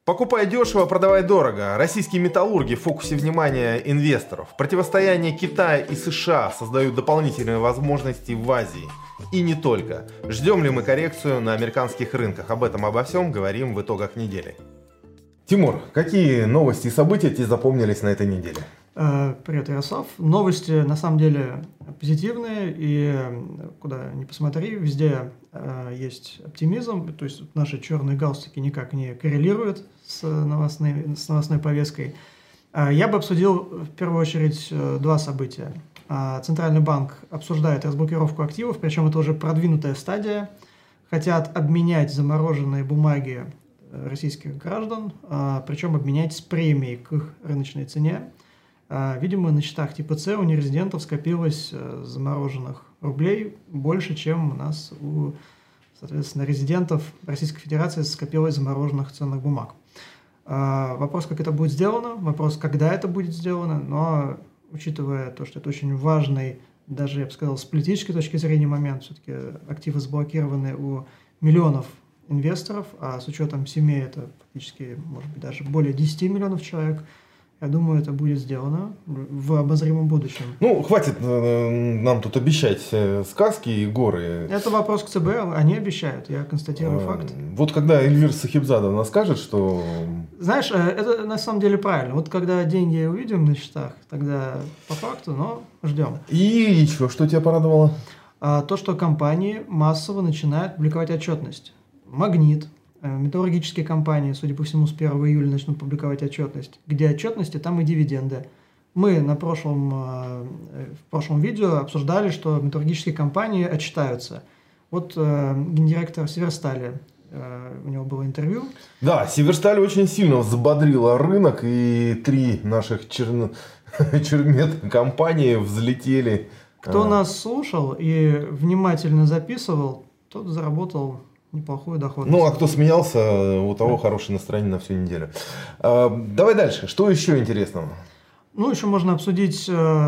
Покупай дешево, продавай дорого. Российские металлурги в фокусе внимания инвесторов. Противостояние Китая и США создают дополнительные возможности в Азии. И не только. Ждем ли мы коррекцию на американских рынках? Обо всем говорим в итогах недели. Тимур, какие новости и события тебе запомнились на этой неделе? Привет, Ярослав. Новости на самом деле позитивные, и куда ни посмотри, везде есть оптимизм, то есть наши черные галстуки никак не коррелируют с новостной повесткой. Я бы обсудил в первую очередь два события. Центральный банк обсуждает разблокировку активов, причем это уже продвинутая стадия. Хотят обменять замороженные бумаги российских граждан, причем обменять с премией к их рыночной цене. Видимо, на счетах типа С у нерезидентов скопилось замороженных рублей больше, чем у нас у, соответственно, резидентов Российской Федерации скопилось замороженных ценных бумаг. Вопрос, как это будет сделано, вопрос, когда это будет сделано, но учитывая то, что это очень важный, даже, я бы сказал, с политической точки зрения момент, все-таки активы заблокированы у миллионов инвесторов, а с учетом семей это фактически, может быть, даже более 10 миллионов человек. Я думаю, это будет сделано в обозримом будущем. Ну, хватит нам тут обещать сказки и горы. Это вопрос к ЦБ, они обещают, я констатирую факт. Вот когда Эльвира Сахибзадовна скажет, что... Знаешь, это на самом деле правильно. Вот когда деньги увидим на счетах, тогда по факту, но ждем. И еще что тебя порадовало? То, что компании массово начинают публиковать отчетность. Магнит. Металлургические компании, судя по всему, с 1 июля начнут публиковать отчетность. Где отчетности, там и дивиденды. Мы в прошлом видео обсуждали, что металлургические компании отчитаются. Вот гендиректор Северстали, у него было интервью. Да, Северсталь очень сильно взбодрила рынок, и 3 наших чермет-компании взлетели. Кто нас слушал и внимательно записывал, тот заработал неплохую доходность. Ну, а кто смеялся, у того хорошее настроение на всю неделю. Давай дальше. Что еще интересного? Ну, еще можно обсудить,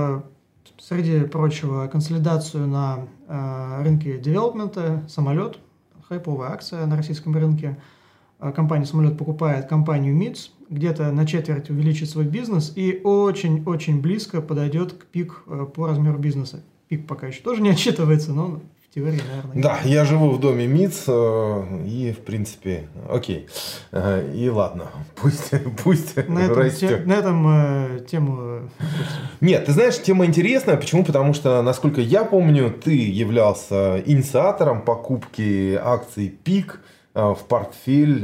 среди прочего, консолидацию на рынке девелопмента. Самолет, хайповая акция на российском рынке. Компания «Самолет» покупает компанию МИЦ, где-то на четверть увеличит свой бизнес и очень-очень близко подойдет к пик по размеру бизнеса. Пик пока еще тоже не отчитывается, но... в теории, наверное. Да, я живу в доме МИЦ, и, в принципе, окей. И ладно, пусть растет. На этом тему... Нет, ты знаешь, тема интересная. Почему? Потому что, насколько я помню, ты являлся инициатором покупки акций ПИК в портфель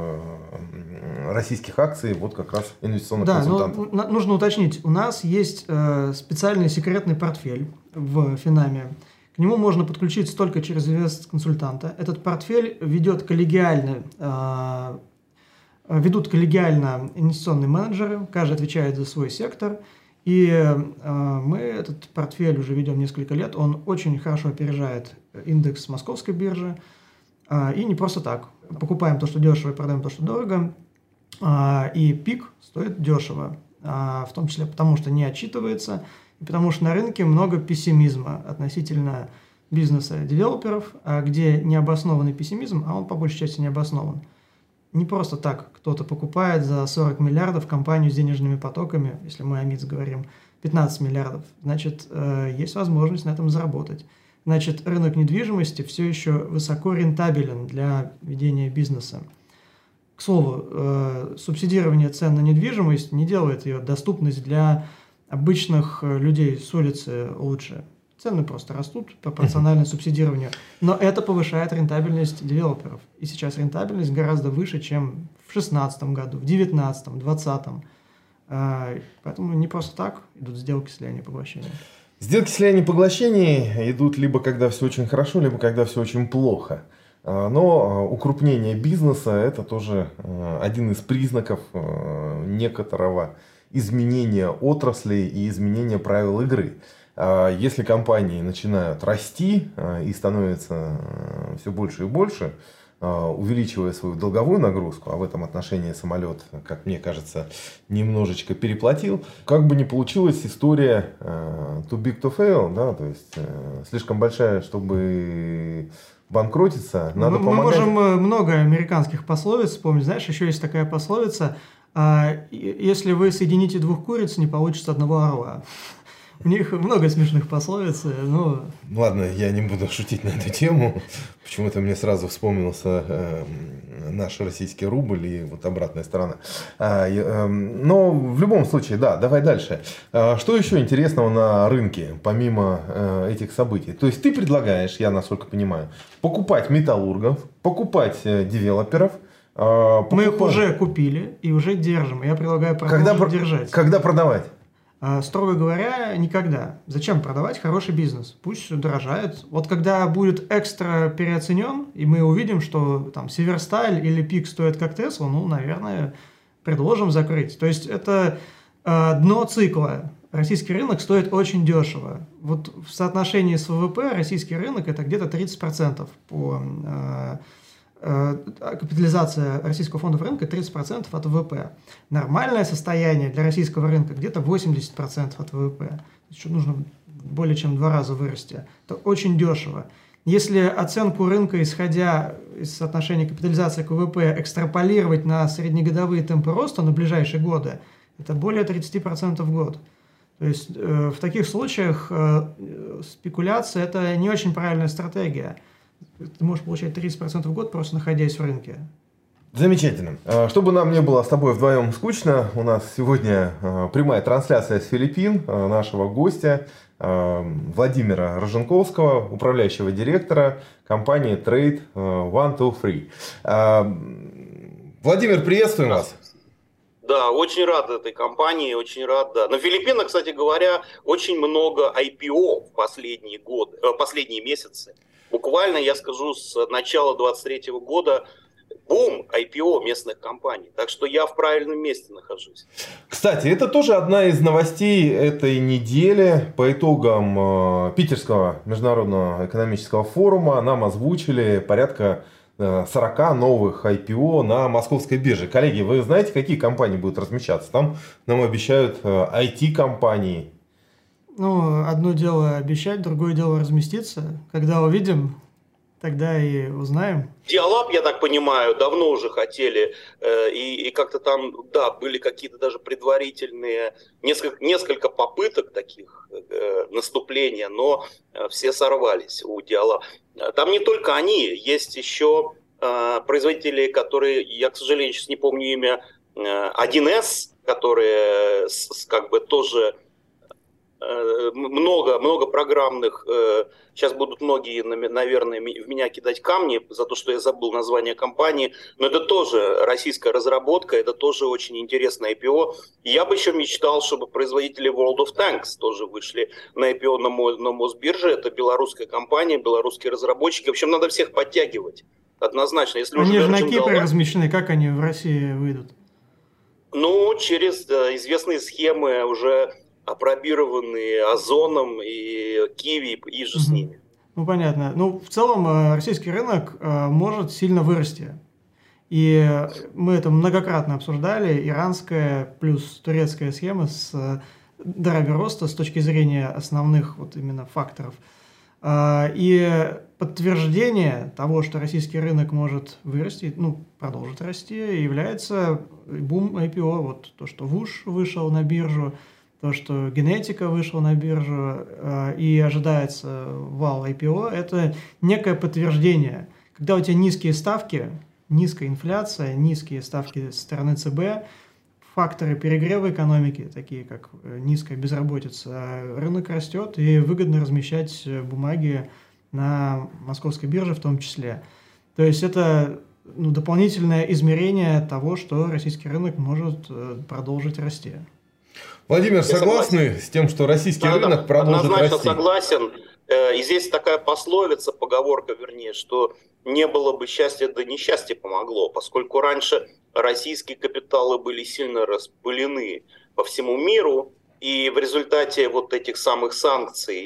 российских акций, вот как раз инвестиционных консультантов. Да, но нужно уточнить, у нас есть специальный секретный портфель в Финаме. К нему можно подключиться только через инвест-консультанта. Этот портфель ведут коллегиально инвестиционные менеджеры, каждый отвечает за свой сектор. И мы этот портфель уже ведем несколько лет, он очень хорошо опережает индекс московской биржи. И не просто так. Покупаем то, что дешево, и продаем то, что дорого. И ПИК стоит дешево, в том числе потому, что не отчитывается, и потому что на рынке много пессимизма относительно бизнеса девелоперов, где необоснованный пессимизм, а он по большей части не обоснован. Не просто так кто-то покупает за 40 миллиардов компанию с денежными потоками, если мы о МИЦ говорим, 15 миллиардов. Значит, есть возможность на этом заработать. Значит, рынок недвижимости все еще высоко рентабелен для ведения бизнеса. К слову, субсидирование цен на недвижимость не делает ее доступность для обычных людей с улицы лучше. Цены просто растут пропорционально субсидированию. Но это повышает рентабельность девелоперов. И сейчас рентабельность гораздо выше, чем в 2016 году, в 2019, 2020. Поэтому не просто так идут сделки слияния и поглощения. Сделки слияния и поглощения идут либо когда все очень хорошо, либо когда все очень плохо. Но укрупнение бизнеса – это тоже один из признаков некоторого изменения отраслей и изменения правил игры. Если компании начинают расти и становятся все больше и больше, увеличивая свою долговую нагрузку, а в этом отношении самолет, как мне кажется, немножечко переплатил, как бы не получилась история too big to fail, да, то есть слишком большая, чтобы банкротиться, надо мы помогать. можем много американских пословиц вспомнить. Знаешь, еще есть такая пословица: если вы соедините двух куриц, не получится одного орла. У них много смешных пословиц, но... Ладно, я не буду шутить на эту тему. Почему-то мне сразу вспомнился наш российский рубль и вот обратная сторона. Но в любом случае, да, давай дальше. Что еще интересного на рынке, помимо этих событий? То есть ты предлагаешь, я насколько понимаю, покупать металлургов, покупать девелоперов. Мы их уже купили и уже держим. Я предлагаю продолжить держать. Когда продавать? Строго говоря, никогда. Зачем продавать хороший бизнес? Пусть дорожает. Вот когда будет экстра переоценен, и мы увидим, что там Северсталь или Пик стоят как Тесла, ну, наверное, предложим закрыть. То есть это дно цикла. Российский рынок стоит очень дешево. Вот в соотношении с ВВП российский рынок это где-то 30% по... капитализация российского фонда рынка 30% от ВВП. Нормальное состояние для российского рынка где-то 80% от ВВП. Еще нужно более чем в 2 раза вырасти. Это очень дешево. Если оценку рынка, исходя из соотношения капитализации к ВВП, экстраполировать на среднегодовые темпы роста на ближайшие годы, это более 30% в год. То есть в таких случаях спекуляция – это не очень правильная стратегия. Ты можешь получать 30% в год, просто находясь в рынке. Замечательно. Чтобы нам не было с тобой вдвоем скучно, у нас сегодня прямая трансляция с Филиппин нашего гостя Владимира Роженковского, управляющего директора компании Trade 123. Владимир, приветствуем вас. Да, очень рад этой компании, очень рад, да. На Филиппинах, кстати говоря, очень много IPO в последние месяцы. Буквально, я скажу, с начала 2023 года бум IPO местных компаний. Так что я в правильном месте нахожусь. Кстати, это тоже одна из новостей этой недели. По итогам Питерского международного экономического форума нам озвучили порядка 40 новых IPO на московской бирже. Коллеги, вы знаете, какие компании будут размещаться? Там нам обещают IT-компании. Ну, одно дело обещать, другое дело разместиться. Когда увидим, тогда и узнаем. Диалаб, я так понимаю, давно уже хотели, и как-то там, да, были какие-то даже предварительные, несколько попыток таких наступления, но все сорвались у Диалаба. Там не только они, есть еще производители, которые, я, к сожалению, сейчас не помню имя, 1С, которые как бы тоже... много программных, сейчас будут многие, наверное, в меня кидать камни за то, что я забыл название компании, но это тоже российская разработка, это тоже очень интересное IPO. Я бы еще мечтал, чтобы производители World of Tanks тоже вышли на IPO на Мосбирже, это белорусская компания, белорусские разработчики, в общем, надо всех подтягивать, однозначно. Если они же на Кипре размещены, как они в России выйдут? Ну, через известные схемы уже... опробированные Озоном и Киви и же с ними. Ну, понятно. Ну, в целом, российский рынок может сильно вырасти. И мы это многократно обсуждали. Иранская плюс турецкая схема с драйвер роста с точки зрения основных вот именно факторов. И подтверждение того, что российский рынок может вырасти, ну, продолжит расти, является бум IPO. Вот то, что ВУШ вышел на биржу, то, что генетика вышла на биржу и ожидается вал IPO, это некое подтверждение. Когда у тебя низкие ставки, низкая инфляция, низкие ставки со стороны ЦБ, факторы перегрева экономики, такие как низкая безработица, рынок растет и выгодно размещать бумаги на московской бирже в том числе. То есть это дополнительное измерение того, что российский рынок может продолжить расти. Владимир, согласны с тем, что российский рынок продолжит однозначно расти? Согласен. И здесь такая пословица, поговорка вернее, что не было бы счастья, да несчастье помогло, поскольку раньше российские капиталы были сильно распылены по всему миру, и в результате вот этих самых санкций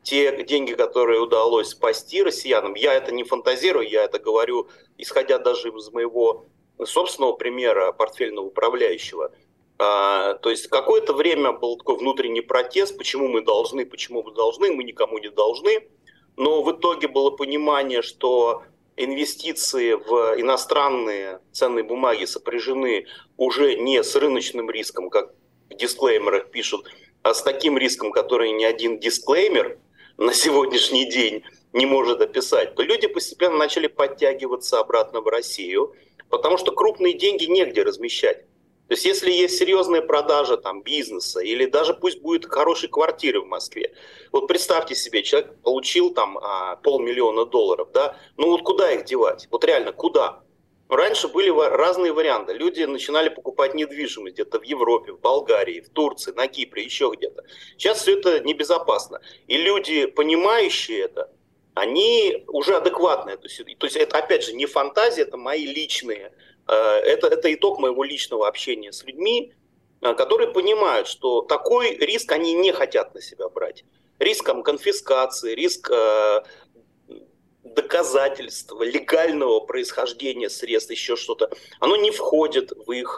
те деньги, которые удалось спасти россиянам, я это не фантазирую, я это говорю, исходя даже из моего собственного примера портфельного управляющего. То есть какое-то время был такой внутренний протест, почему мы должны, мы никому не должны. Но в итоге было понимание, что инвестиции в иностранные ценные бумаги сопряжены уже не с рыночным риском, как в дисклеймерах пишут, а с таким риском, который ни один дисклеймер на сегодняшний день не может описать, то люди постепенно начали подтягиваться обратно в Россию, потому что крупные деньги негде размещать. То есть если есть серьезная продажа там, бизнеса или даже пусть будет хорошей квартиры в Москве, вот представьте себе, человек получил там $500 000, да, ну вот куда их девать? Вот реально, куда? Раньше были разные варианты. Люди начинали покупать недвижимость где-то в Европе, в Болгарии, в Турции, на Кипре, еще где-то. Сейчас все это небезопасно. И люди, понимающие это, они уже адекватные. То есть это, опять же, не фантазия, это мои личные. Это итог моего личного общения с людьми, которые понимают, что такой риск они не хотят на себя брать. Риск конфискации, риск доказательства легального происхождения средств, еще что-то, оно не входит в их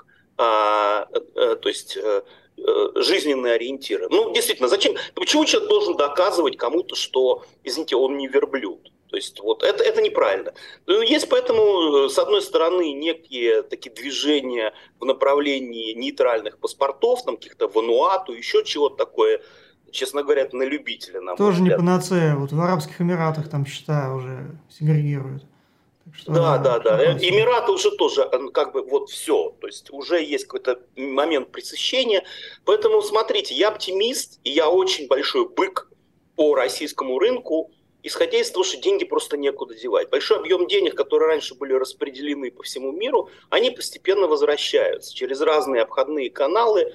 жизненные ориентиры. Ну, действительно, зачем? Почему человек должен доказывать кому-то, что, извините, он не верблюд? То есть вот это неправильно. Есть поэтому, с одной стороны, некие такие движения в направлении нейтральных паспортов, там каких-то Вануату, еще чего-то такое. Честно говоря, это на любителя. Тоже не панацея. Вот в Арабских Эмиратах там счета уже сегрегируют. Да. Эмираты уже тоже как бы вот все. То есть уже есть какой-то момент пресыщения. Поэтому смотрите, я оптимист, и я очень большой бык по российскому рынку, исходя из того, что деньги просто некуда девать. Большой объем денег, которые раньше были распределены по всему миру, они постепенно возвращаются через разные обходные каналы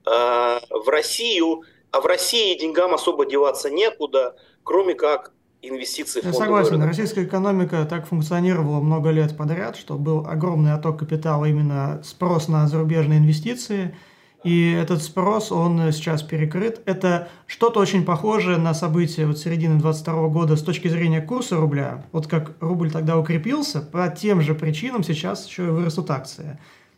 в Россию. А в России деньгам особо деваться некуда, кроме как инвестиции в фондовый рынок. Я согласен, рынок. российская экономика так функционировала много лет подряд, что был огромный отток капитала, именно спрос на зарубежные инвестиции. И этот спрос, он сейчас перекрыт. Это что-то очень похожее на события вот середины 2022 года с точки зрения курса рубля. Вот как рубль тогда укрепился, по тем же причинам сейчас еще и вырастут акции.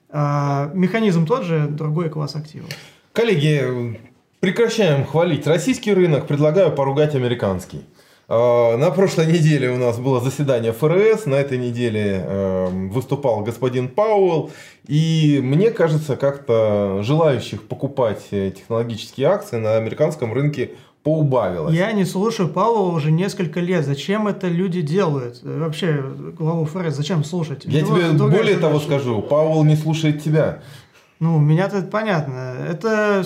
Механизм тот же, другой класс активов. Коллеги, прекращаем хвалить российский рынок, предлагаю поругать американский. На прошлой неделе у нас было заседание ФРС, на этой неделе выступал господин Пауэлл, и мне кажется, как-то желающих покупать технологические акции на американском рынке поубавилось. Я не слушаю Пауэлла уже несколько лет. Зачем это люди делают? Вообще, главу ФРС зачем слушать? Я тебе более того скажу, Пауэлл не слушает тебя. Ну, меня-то это понятно. Это,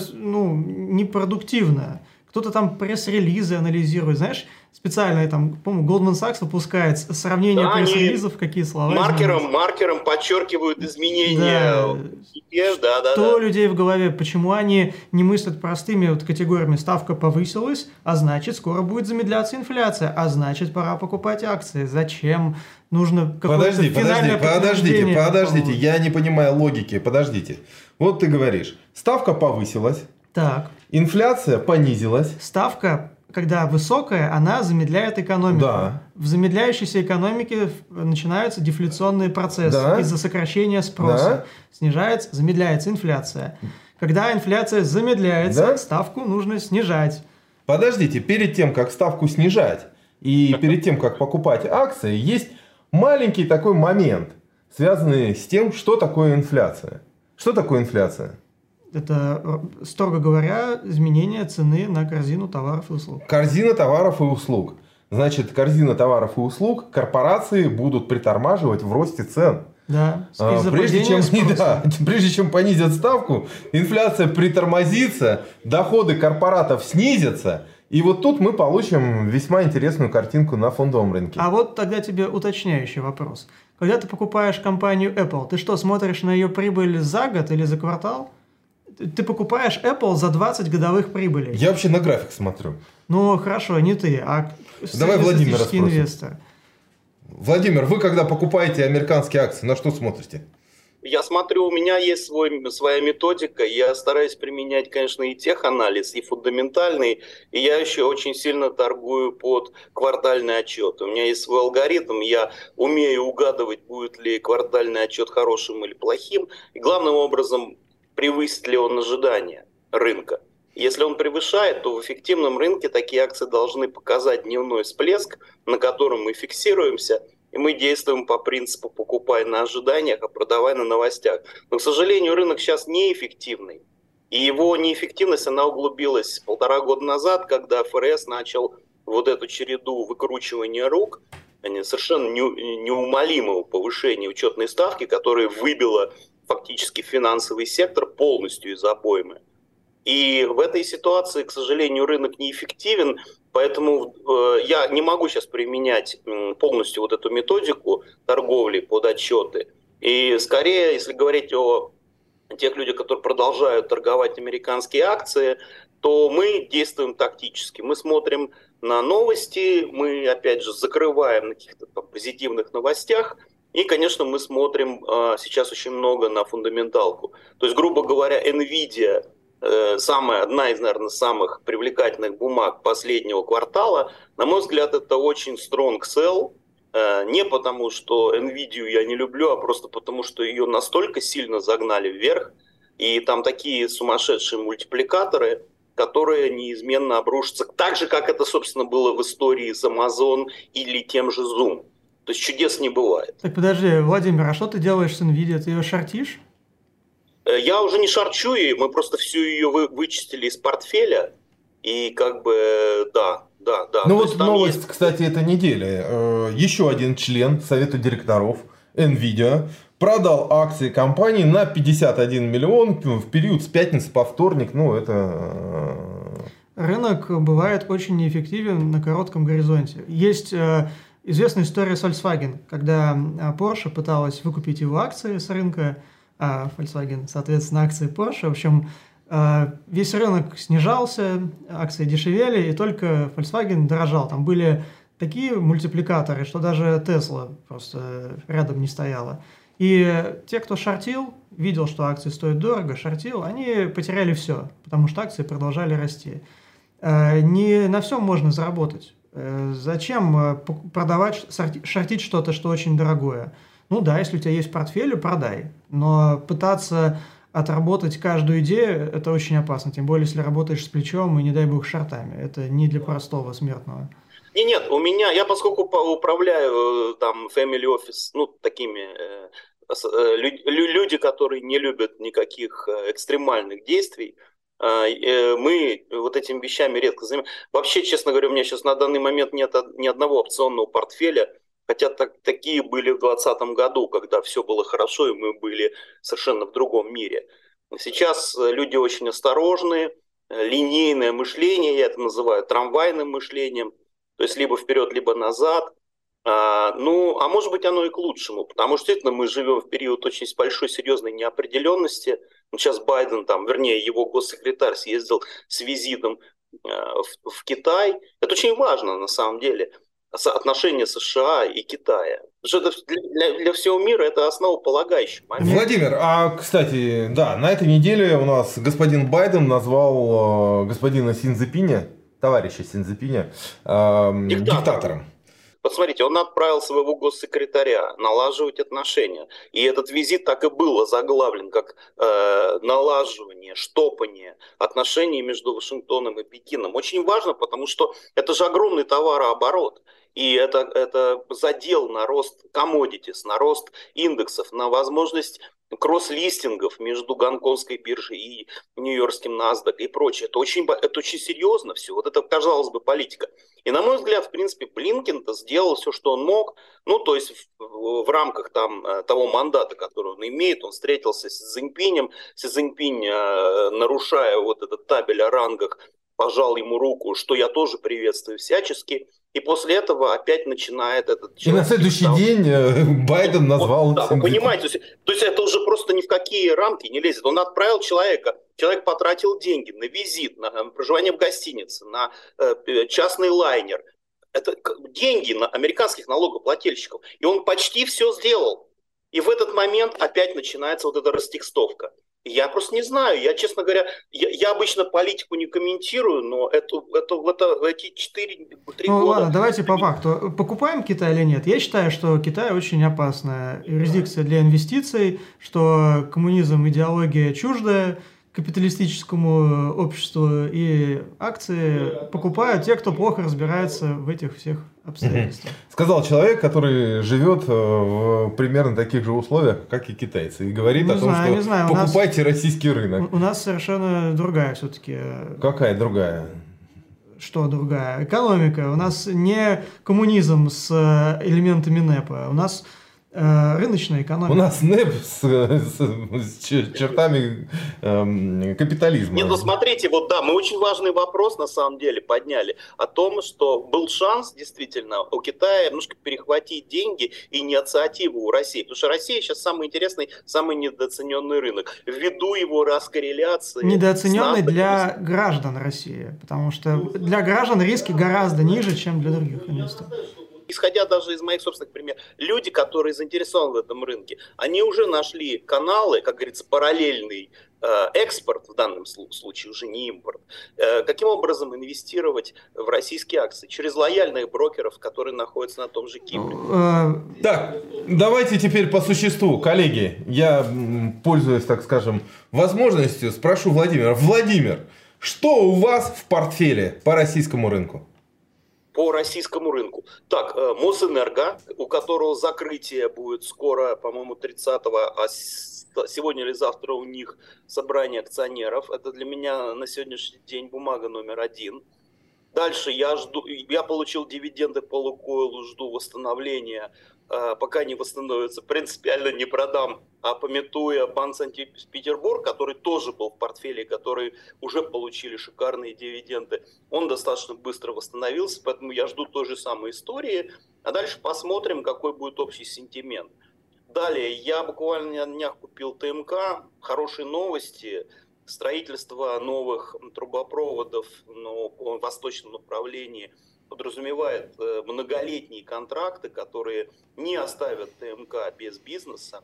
непродуктивно. Кто-то там пресс-релизы анализирует. Знаешь, специально, там, по-моему, Goldman Sachs выпускает сравнение пресс-релизов, какие слова. Маркером подчеркивают изменения. Да. Что у людей в голове? Почему они не мыслят простыми вот категориями? Ставка повысилась, а значит, скоро будет замедляться инфляция, а значит, пора покупать акции. Зачем? Нужно какое-то финальное подтверждение. Подождите, я не понимаю логики. Подождите. Вот ты говоришь, ставка повысилась. Так. Инфляция понизилась. Ставка, когда высокая, она замедляет экономику. Да. В замедляющейся экономике начинаются дефляционные процессы из-за сокращения спроса. Замедляется инфляция. Когда инфляция замедляется, ставку нужно снижать. Подождите, перед тем, как ставку снижать и перед тем, как покупать акции, есть маленький такой момент, связанный с тем, что такое инфляция. Что такое инфляция? Это, строго говоря, изменение цены на корзину товаров и услуг. Корзина товаров и услуг. Значит, корзина товаров и услуг корпорации будут притормаживать в росте цен. Да. Прежде чем понизят ставку, инфляция притормозится, доходы корпоратов снизятся. И вот тут мы получим весьма интересную картинку на фондовом рынке. А вот тогда тебе уточняющий вопрос. Когда ты покупаешь компанию Apple, ты что, смотришь на ее прибыль за год или за квартал? Ты покупаешь Apple за 20 годовых прибылей. Я вообще на график смотрю. Ну, хорошо, не ты, а давай Владимира инвестор. Владимир, вы когда покупаете американские акции, на что смотрите? я смотрю, у меня есть своя методика, я стараюсь применять, конечно, и теханализ, и фундаментальный, и я еще очень сильно торгую под квартальный отчет. У меня есть свой алгоритм, я умею угадывать, будет ли квартальный отчет хорошим или плохим, и главным образом, превысит ли он ожидания рынка. Если он превышает, то в эффективном рынке такие акции должны показать дневной всплеск, на котором мы фиксируемся, и мы действуем по принципу «покупай на ожиданиях, а продавай на новостях». Но, к сожалению, рынок сейчас неэффективный. И его неэффективность, она углубилась 1,5 года назад, когда ФРС начал вот эту череду выкручивания рук, совершенно неумолимого повышения учетной ставки, которое выбило фактически финансовый сектор полностью из обоймы. И в этой ситуации, к сожалению, рынок неэффективен, поэтому я не могу сейчас применять полностью вот эту методику торговли под отчеты. И скорее, если говорить о тех людях, которые продолжают торговать американские акции, то мы действуем тактически. Мы смотрим на новости, мы, опять же, закрываем на каких-то позитивных новостях, и, конечно, мы смотрим сейчас очень много на фундаменталку. То есть, грубо говоря, NVIDIA одна из, наверное, самых привлекательных бумаг последнего квартала. На мой взгляд, это очень strong sell. Не потому, что NVIDIA я не люблю, а просто потому, что ее настолько сильно загнали вверх. И там такие сумасшедшие мультипликаторы, которые неизменно обрушатся. Так же, как это, собственно, было в истории с Amazon или тем же Zoom. То есть чудес не бывает. Так подожди, Владимир, а что ты делаешь с NVIDIA? Ты ее шортишь? Я уже не шарчу ее, мы просто всю ее вычистили из портфеля. И как бы, да. Ну вот новость, есть... кстати, этой недели. Еще один член Совета директоров NVIDIA продал акции компании на 51 миллион в период с пятницы по вторник. Ну, это... Рынок бывает очень неэффективен на коротком горизонте. Есть известная история с Volkswagen, когда Porsche пыталась выкупить его акции с рынка, а Volkswagen, соответственно, акции Porsche. В общем, весь рынок снижался, акции дешевели, и только Volkswagen дорожал. Там были такие мультипликаторы, что даже Tesla просто рядом не стояла. И те, кто шортил, видел, что акции стоят дорого, шортил, они потеряли все, потому что акции продолжали расти. Не на всем можно заработать. Зачем продавать, шортить что-то, что очень дорогое? Ну да, если у тебя есть портфель, продай. Но пытаться отработать каждую идею, это очень опасно. Тем более, если работаешь с плечом и, не дай бог, шортами. Это не для простого смертного. Нет, у меня, я поскольку управляю там family office, ну, такими люди, которые не любят никаких экстремальных действий, мы вот этими вещами редко занимаемся. Вообще, честно говоря, у меня сейчас на данный момент нет ни одного опционного портфеля, хотя такие были в 2020 году, когда все было хорошо, и мы были совершенно в другом мире. Сейчас люди очень осторожные, линейное мышление, я это называю трамвайным мышлением, то есть либо вперед, либо назад. А может быть, оно и к лучшему, потому что действительно мы живем в период очень большой серьезной неопределенности. Сейчас Байден, его госсекретарь съездил с визитом в Китай. Это очень важно на самом деле. Отношения США и Китая. Потому что для всего мира это основополагающий момент. Владимир, а, кстати, да, на этой неделе у нас господин Байден назвал господина Синьцзипиня, товарища Синьцзипиня, диктатором. Посмотрите, он отправил своего госсекретаря налаживать отношения. И этот визит так и был озаглавлен как налаживание, штопание отношений между Вашингтоном и Пекином. Очень важно, потому что это же огромный товарооборот. И это задел на рост commodities, на рост индексов, на возможность кросс-листингов между гонконгской биржей и нью-йоркским NASDAQ и прочее. Это очень серьезно все. Вот это, казалось бы, политика. И, на мой взгляд, в принципе, Блинкен-то сделал все, что он мог. Ну, то есть в рамках того мандата, который он имеет, он встретился с Цзиньпинем. Цзиньпинь, нарушая вот этот табель о рангах, пожал ему руку, что я тоже приветствую всячески. И после этого опять начинает этот человек... И на следующий день Байден назвал... Да, вы понимаете, то есть это уже просто ни в какие рамки не лезет. Он отправил человека, человек потратил деньги на визит, на проживание в гостинице, на частный лайнер. Это деньги на американских налогоплательщиков. И он почти все сделал. И в этот момент опять начинается вот эта растекстовка. Я просто не знаю, я, честно говоря, я обычно политику не комментирую, но эти 4-3 Ну года... ладно, давайте по факту. Покупаем Китай или нет? Я считаю, что Китай очень опасная юрисдикция для инвестиций, что коммунизм идеология чуждая капиталистическому обществу, и акции покупают те, кто плохо разбирается в этих всех обстоятельствах. Сказал человек, который живет в примерно таких же условиях, как и китайцы, и говорит о том, что покупайте российский рынок. У нас совершенно другая все-таки. Какая другая? Что другая? Экономика. У нас не коммунизм с элементами НЭПа. У нас рыночная экономика. У нас НЭП с чертами капитализма. Нет, ну смотрите, вот да, мы очень важный вопрос на самом деле подняли о том, что был шанс действительно у Китая немножко перехватить деньги и инициативу у России. Потому что Россия сейчас самый интересный, самый недооцененный рынок. Ввиду его раскорреляции... Недооцененный для граждан России. Потому что для граждан риски гораздо ниже, чем для других инвесторов. Исходя даже из моих собственных примеров, люди, которые заинтересованы в этом рынке, они уже нашли каналы, как говорится, параллельный экспорт, в данном случае уже не импорт, каким образом инвестировать в российские акции через лояльных брокеров, которые находятся на том же Кипре. Так, давайте теперь по существу, коллеги. Я, пользуясь, так скажем, возможностью, спрошу Владимира. Владимир, что у вас в портфеле по российскому рынку? По российскому рынку. Так, Мосэнерго, у которого закрытие будет скоро, по-моему, 30-го, а сегодня или завтра у них собрание акционеров. Это для меня на сегодняшний день бумага номер 1. Дальше я получил дивиденды по Лукойлу, жду восстановления. Пока не восстановится, принципиально не продам, а памятуя Банк Санкт-Петербург, который тоже был в портфеле, который уже получили шикарные дивиденды, он достаточно быстро восстановился, поэтому я жду той же самой истории, а дальше посмотрим, какой будет общий сентимент. Далее, я буквально на днях купил ТМК, хорошие новости, строительство новых трубопроводов в восточном направлении подразумевает многолетние контракты, которые не оставят ТМК без бизнеса.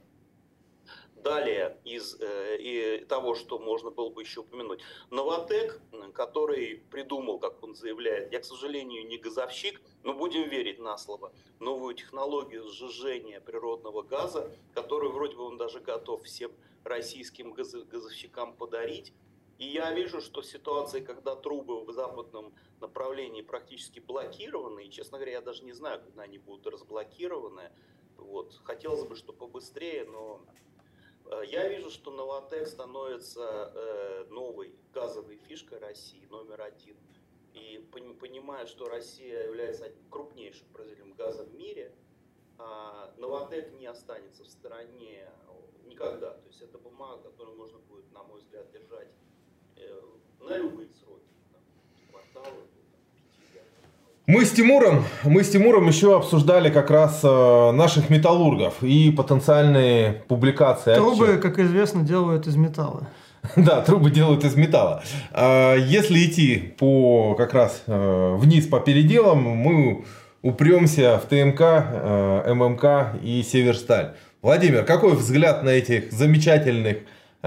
Далее, из того, что можно было бы еще упомянуть, Новатэк, который придумал, как он заявляет, я, к сожалению, не газовщик, но будем верить на слово, новую технологию сжижения природного газа, которую вроде бы он даже готов всем российским газовщикам подарить. И я вижу, что в ситуации, когда трубы в западном направлении практически блокированы, и, честно говоря, я даже не знаю, когда они будут разблокированы, вот. Хотелось бы, чтобы побыстрее, но я вижу, что Новатэк становится новой газовой фишкой России, номер 1. И понимая, что Россия является крупнейшим производителем газа в мире, Новатэк не останется в стороне никогда. То есть это бумага, которую можно будет, на мой взгляд, держать на любые сроки, кварталы. Мы с Тимуром еще обсуждали как раз наших металлургов и потенциальные публикации. Трубы, как известно, делают из металла. Да, трубы делают из металла. Если идти как раз вниз по переделам, мы упремся в ТМК, ММК и Северсталь. Владимир, какой взгляд на этих замечательных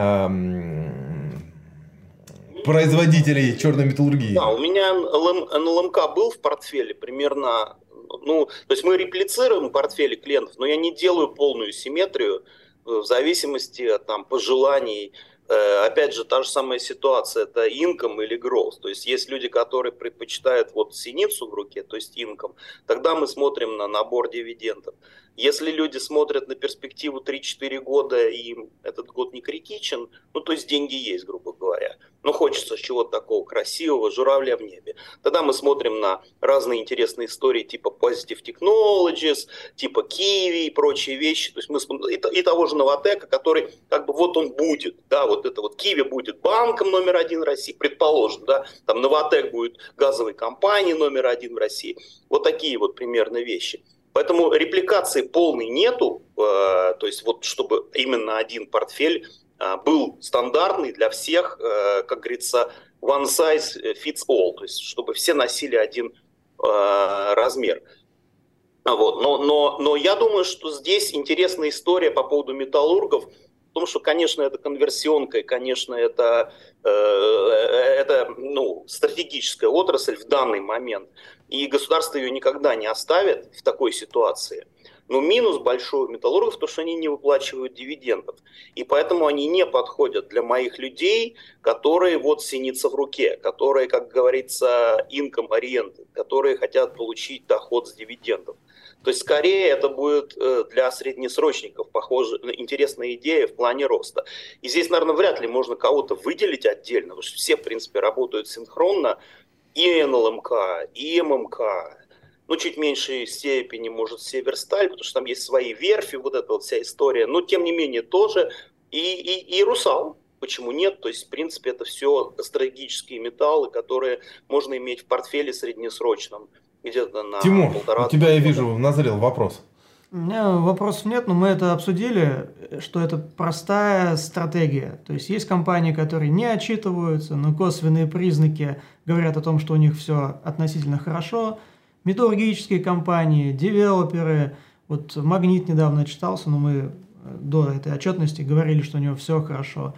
производителей черной металлургии? Да, у меня НЛМК был в портфеле примерно, то есть мы реплицируем портфели клиентов, но я не делаю полную симметрию в зависимости от пожеланий. Опять же, та же самая ситуация, это income или growth. То есть есть люди, которые предпочитают синицу в руке, то есть income, тогда мы смотрим на набор дивидендов. Если люди смотрят на перспективу 3-4 года, и им этот год не критичен, то есть деньги есть, грубо говоря. Но хочется чего-то такого красивого, журавля в небе. Тогда мы смотрим на разные интересные истории типа Positive Technologies, типа Kiwi и прочие вещи. То есть мы смотрим и того же Новатэка, который он будет. Да, это Kiwi будет банком номер 1 в России, предположим. Да, там Новатэк будет газовой компанией номер 1 в России. Вот такие примерно вещи. Поэтому репликации полной нету, то есть чтобы именно один портфель был стандартный для всех, как говорится, one size fits all, то есть чтобы все носили один размер. Вот. Но я думаю, что здесь интересная история по поводу металлургов, в том, что, конечно, это конверсионка, и, конечно, это стратегическая отрасль в данный момент, и государство ее никогда не оставит в такой ситуации. Но минус большой у металлургов, то, что они не выплачивают дивидендов. И поэтому они не подходят для моих людей, которые вот синица в руке, которые, как говорится, income-oriented, которые хотят получить доход с дивидендов. То есть, скорее, это будет для среднесрочников, похоже, интересная идея в плане роста. И здесь, наверное, вряд ли можно кого-то выделить отдельно, потому что все, в принципе, работают синхронно. И НЛМК, и ММК, чуть в меньшей степени, может, Северсталь, потому что там есть свои верфи, вот эта вот вся история. Но, тем не менее, тоже. И Русал. Почему нет? То есть, в принципе, это все стратегические металлы, которые можно иметь в портфеле среднесрочном. Где-то на Тимур, полтора. у тебя, я вижу, назрел вопрос. У меня вопросов нет, но мы это обсудили, что это простая стратегия. То есть компании, которые не отчитываются, но косвенные признаки говорят о том, что у них все относительно хорошо. Металлургические компании, девелоперы. Вот Магнит недавно отчитался, но мы до этой отчетности говорили, что у него все хорошо.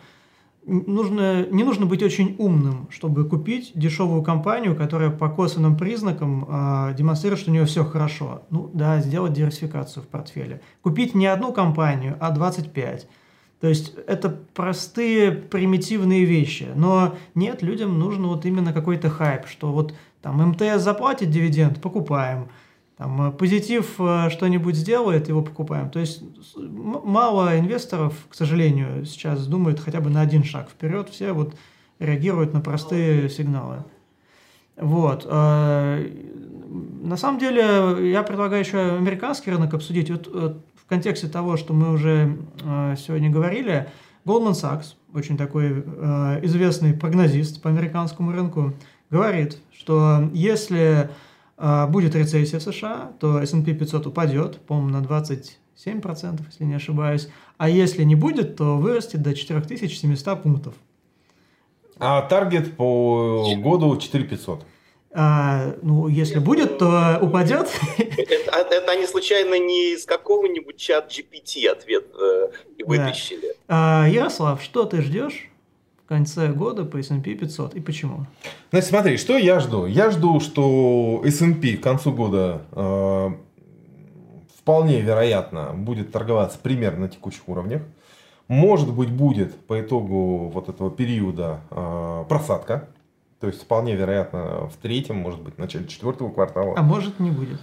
Не нужно быть очень умным, чтобы купить дешевую компанию, которая по косвенным признакам демонстрирует, что у нее все хорошо. Сделать диверсификацию в портфеле. Купить не одну компанию, а 25. То есть это простые, примитивные вещи. Но нет, людям нужен вот именно какой-то хайп, что вот там МТС заплатит дивиденд, покупаем. Там Позитив что-нибудь сделает, его покупаем. То есть мало инвесторов, к сожалению, сейчас думают хотя бы на один шаг вперед. Все вот реагируют на простые сигналы. Вот. На самом деле, я предлагаю еще американский рынок обсудить. Вот в контексте того, что мы уже сегодня говорили, Goldman Sachs, очень такой известный прогнозист по американскому рынку, говорит, что если будет рецессия в США, то S&P 500 упадет, по-моему, на 27%, если не ошибаюсь. А если не будет, то вырастет до 4700 пунктов. А таргет по году 4500. Если будет, то упадет. Это они случайно не из какого-нибудь чат GPT ответ вытащили? Ярослав, что ты ждешь в конце года по S&P 500 и почему? Значит, смотри, что я жду? Я жду, что S&P к концу года вполне вероятно будет торговаться примерно на текущих уровнях. Может быть, будет по итогу вот этого периода просадка. То есть, вполне вероятно, в третьем, может быть, в начале четвертого квартала. А может, не будет.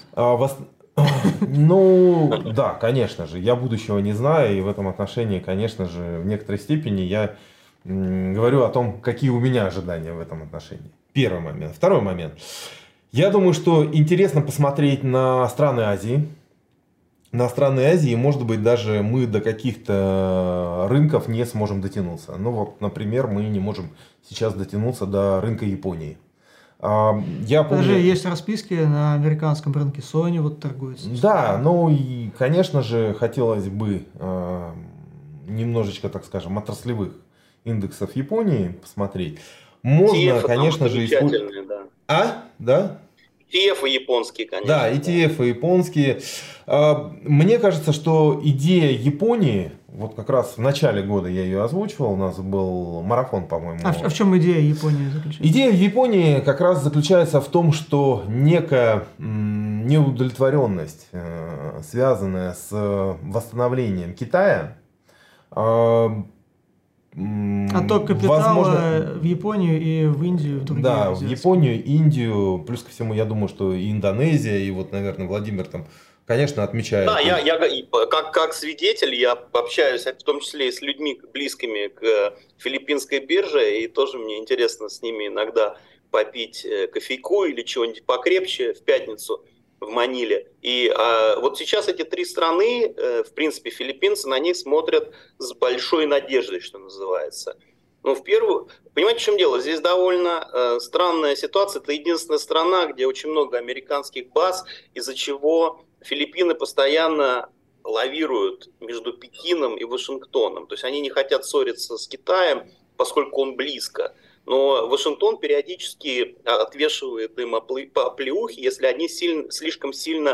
Да, конечно же. Я будущего не знаю. И в этом отношении, конечно же, в некоторой степени я говорю о том, какие у меня ожидания в этом отношении. Первый момент. Второй момент. Я думаю, что интересно посмотреть на страны Азии. На страны Азии, может быть, даже мы до каких-то рынков не сможем дотянуться. Например, мы не можем сейчас дотянуться до рынка Японии. Даже есть расписки на американском рынке, Sony вот торгуется. Да, и, конечно же, хотелось бы немножечко, так скажем, отраслевых индексов Японии посмотреть. Можно, конечно же, использовать. Да? ETF японские, конечно. Да, ETF японские. Мне кажется, что идея Японии, вот как раз в начале года я ее озвучивал, у нас был марафон, по-моему. А в чем идея Японии заключается? Идея в Японии как раз заключается в том, что некая неудовлетворенность, связанная с восстановлением Китая, отток капитала в Японию и в Индию, в другие. Да, в Японию, Индию, плюс ко всему, я думаю, что и Индонезия, и вот, наверное, Владимир там, конечно, отмечает. Да, я как свидетель, я общаюсь в том числе и с людьми, близкими к филиппинской бирже, и тоже мне интересно с ними иногда попить кофейку или чего-нибудь покрепче в пятницу в Маниле. И вот сейчас эти три страны, в принципе, филиппинцы на них смотрят с большой надеждой, что называется. Понимаете, в чем дело? Здесь довольно странная ситуация. Это единственная страна, где очень много американских баз, из-за чего Филиппины постоянно лавируют между Пекином и Вашингтоном. То есть они не хотят ссориться с Китаем, поскольку он близко. Но Вашингтон периодически отвешивает им оплеухи, если они слишком сильно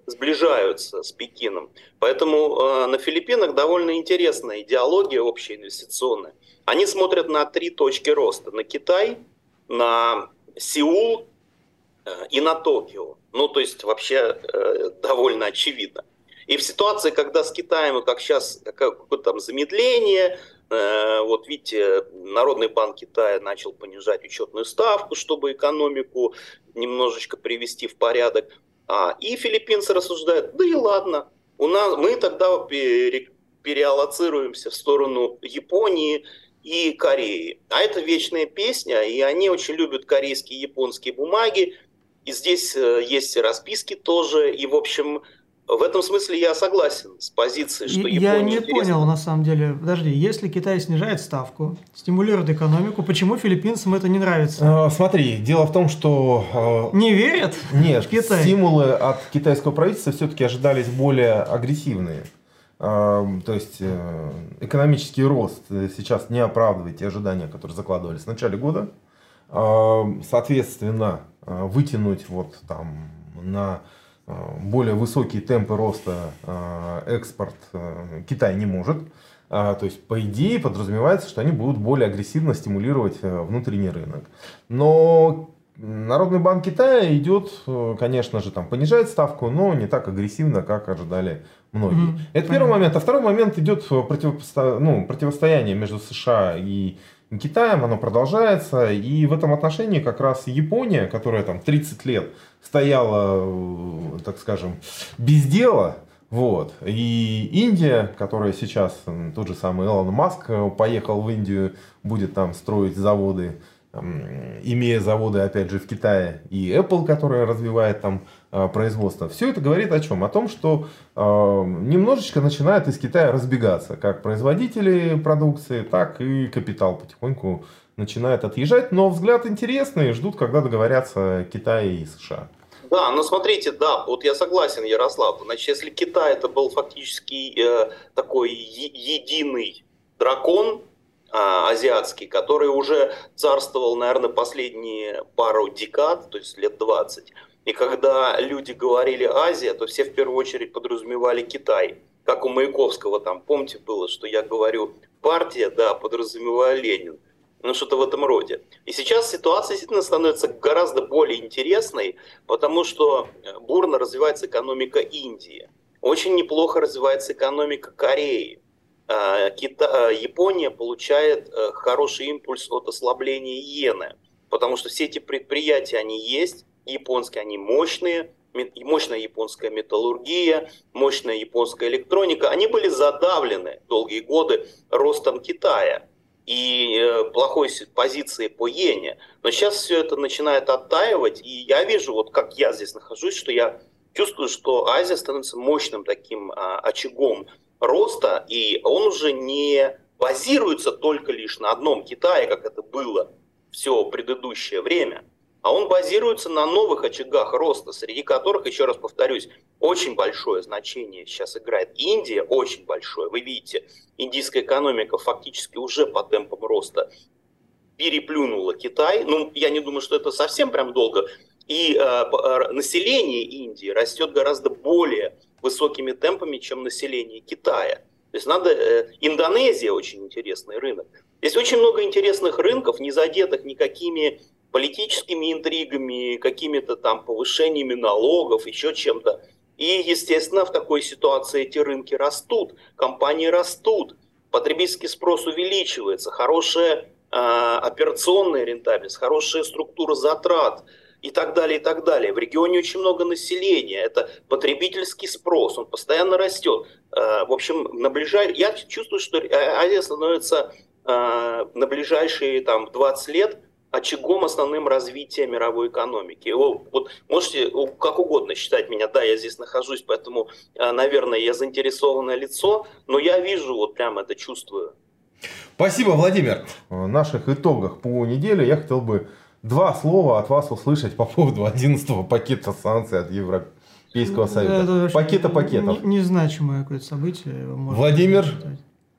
сближаются с Пекином. Поэтому на Филиппинах довольно интересная идеология общая инвестиционная. Они смотрят на 3 точки роста. На Китай, на Сеул и на Токио. Ну, то есть вообще довольно очевидно. И в ситуации, когда с Китаем, как сейчас, какое-то там замедление, вот видите, Народный банк Китая начал понижать учетную ставку, чтобы экономику немножечко привести в порядок. И филиппинцы рассуждают, да и ладно, мы тогда переаллоцируемся в сторону Японии и Кореи. А это вечная песня, и они очень любят корейские и японские бумаги. И здесь есть расписки тоже, и в общем... В этом смысле я согласен с позицией, что Япония... Я не понял, на самом деле. Подожди, если Китай снижает ставку, стимулирует экономику, почему филиппинцам это не нравится? Смотри, дело в том, что... Не верят? Нет, в Китай? Стимулы от китайского правительства все-таки ожидались более агрессивные. То есть экономический рост сейчас не оправдывает те ожидания, которые закладывались в начале года. Соответственно, вытянуть вот там на... более высокие темпы роста экспорт Китай не может. То есть, по идее, подразумевается, что они будут более агрессивно стимулировать внутренний рынок. Но Народный банк Китая идет, конечно же, там понижает ставку, но не так агрессивно, как ожидали многие. Это первый момент. А второй момент идет противостояние между США и Китаем, оно продолжается. И в этом отношении как раз Япония, которая там 30 лет стояла, так скажем, без дела, вот. И Индия, которая сейчас, тот же самый Илон Маск поехал в Индию, будет там строить заводы, имея заводы, опять же, в Китае, и Apple, которая развивает там производство. Все это говорит о чем? О том, что немножечко начинает из Китая разбегаться, как производители продукции, так и капитал потихоньку начинает отъезжать. Но взгляд интересный, ждут, когда договорятся Китай и США. Да, но смотрите, да, вот я согласен, Ярослав. Значит, если Китай это был фактически такой единый дракон азиатский, который уже царствовал, наверное, последние пару декад, то есть лет 20. И когда люди говорили Азия, то все в первую очередь подразумевали Китай. Как у Маяковского там, помните, было, что я говорю партия, да, подразумеваю Ленин. Ну, что-то в этом роде. И сейчас ситуация действительно становится гораздо более интересной, потому что бурно развивается экономика Индии. Очень неплохо развивается экономика Кореи. Япония получает хороший импульс от ослабления иены, потому что все эти предприятия, они есть, японские, они мощные, мощная японская металлургия, мощная японская электроника, они были задавлены долгие годы ростом Китая и плохой позиции по иене. Но сейчас все это начинает оттаивать, и я вижу, вот как я здесь нахожусь, что я чувствую, что Азия становится мощным таким очагом роста, и он уже не базируется только лишь на одном Китае, как это было все предыдущее время, а он базируется на новых очагах роста, среди которых, еще раз повторюсь, очень большое значение сейчас играет Индия, очень большое. Вы видите, индийская экономика фактически уже по темпам роста переплюнула Китай. Ну, я не думаю, что это совсем прям долго. И население Индии растет гораздо более высокими темпами, чем население Китая. То есть Индонезия очень интересный рынок. Здесь очень много интересных рынков, не задетых никакими политическими интригами, какими-то там повышениями налогов, еще чем-то. И, естественно, в такой ситуации эти рынки растут, компании растут, потребительский спрос увеличивается, хорошая операционная рентабельность, хорошая структура затрат и так далее, и так далее. В регионе очень много населения, это потребительский спрос, он постоянно растет. В общем, я чувствую, что Азия становится на ближайшие там, 20 лет очагом основным развития мировой экономики. Вот можете как угодно считать меня, да, я здесь нахожусь, поэтому, наверное, я заинтересованное лицо, но я вижу, вот прям это чувствую. Спасибо, Владимир. В наших итогах по неделе я хотел бы 2 слова от вас услышать по поводу 11-го пакета санкций от Европейского Союза. Пакета пакетов. Незначимое какое-то событие. Владимир?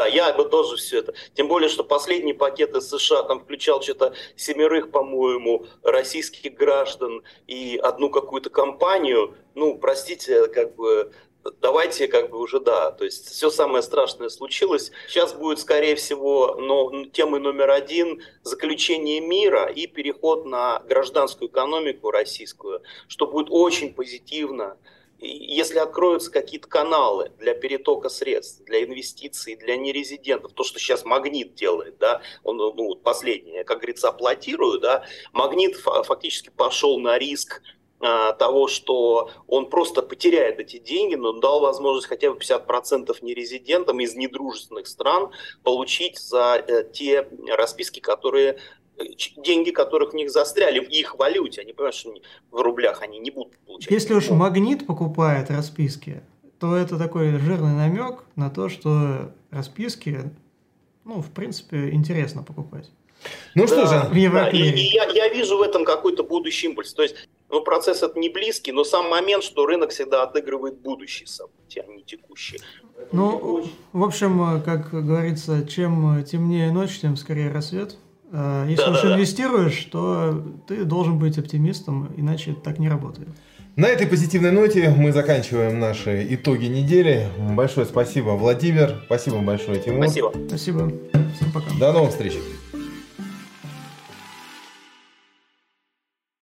Да, я бы тоже все это. Тем более, что последний пакет из США там включал что-то 7, по-моему, российских граждан и одну какую-то компанию. Ну, простите, как бы... Давайте уже да, то есть все самое страшное случилось. Сейчас будет, скорее всего, темой номер 1 заключение мира и переход на гражданскую экономику российскую, что будет очень позитивно. Если откроются какие-то каналы для перетока средств, для инвестиций, для нерезидентов, то, что сейчас Магнит делает, да, он последнее, как говорится, аплодирую, да, Магнит фактически пошел на риск того, что он просто потеряет эти деньги, но дал возможность хотя бы 50% нерезидентам из недружественных стран получить за те расписки, деньги которых в них застряли в их валюте. Они понимают, что в рублях они не будут получать. Если уж Магнит покупает расписки, то это такой жирный намек на то, что расписки, в принципе, интересно покупать. Ну что же, я вижу в этом какой-то будущий импульс. То есть, процесс это не близкий, но сам момент, что рынок всегда отыгрывает будущие события, а не текущие. В общем, как говорится, чем темнее ночь, тем скорее рассвет. Если уж инвестируешь, то ты должен быть оптимистом, иначе так не работает. На этой позитивной ноте мы заканчиваем наши итоги недели. Большое спасибо, Владимир. Спасибо большое, Тимур. Спасибо. Спасибо. Всем пока. До новых встреч.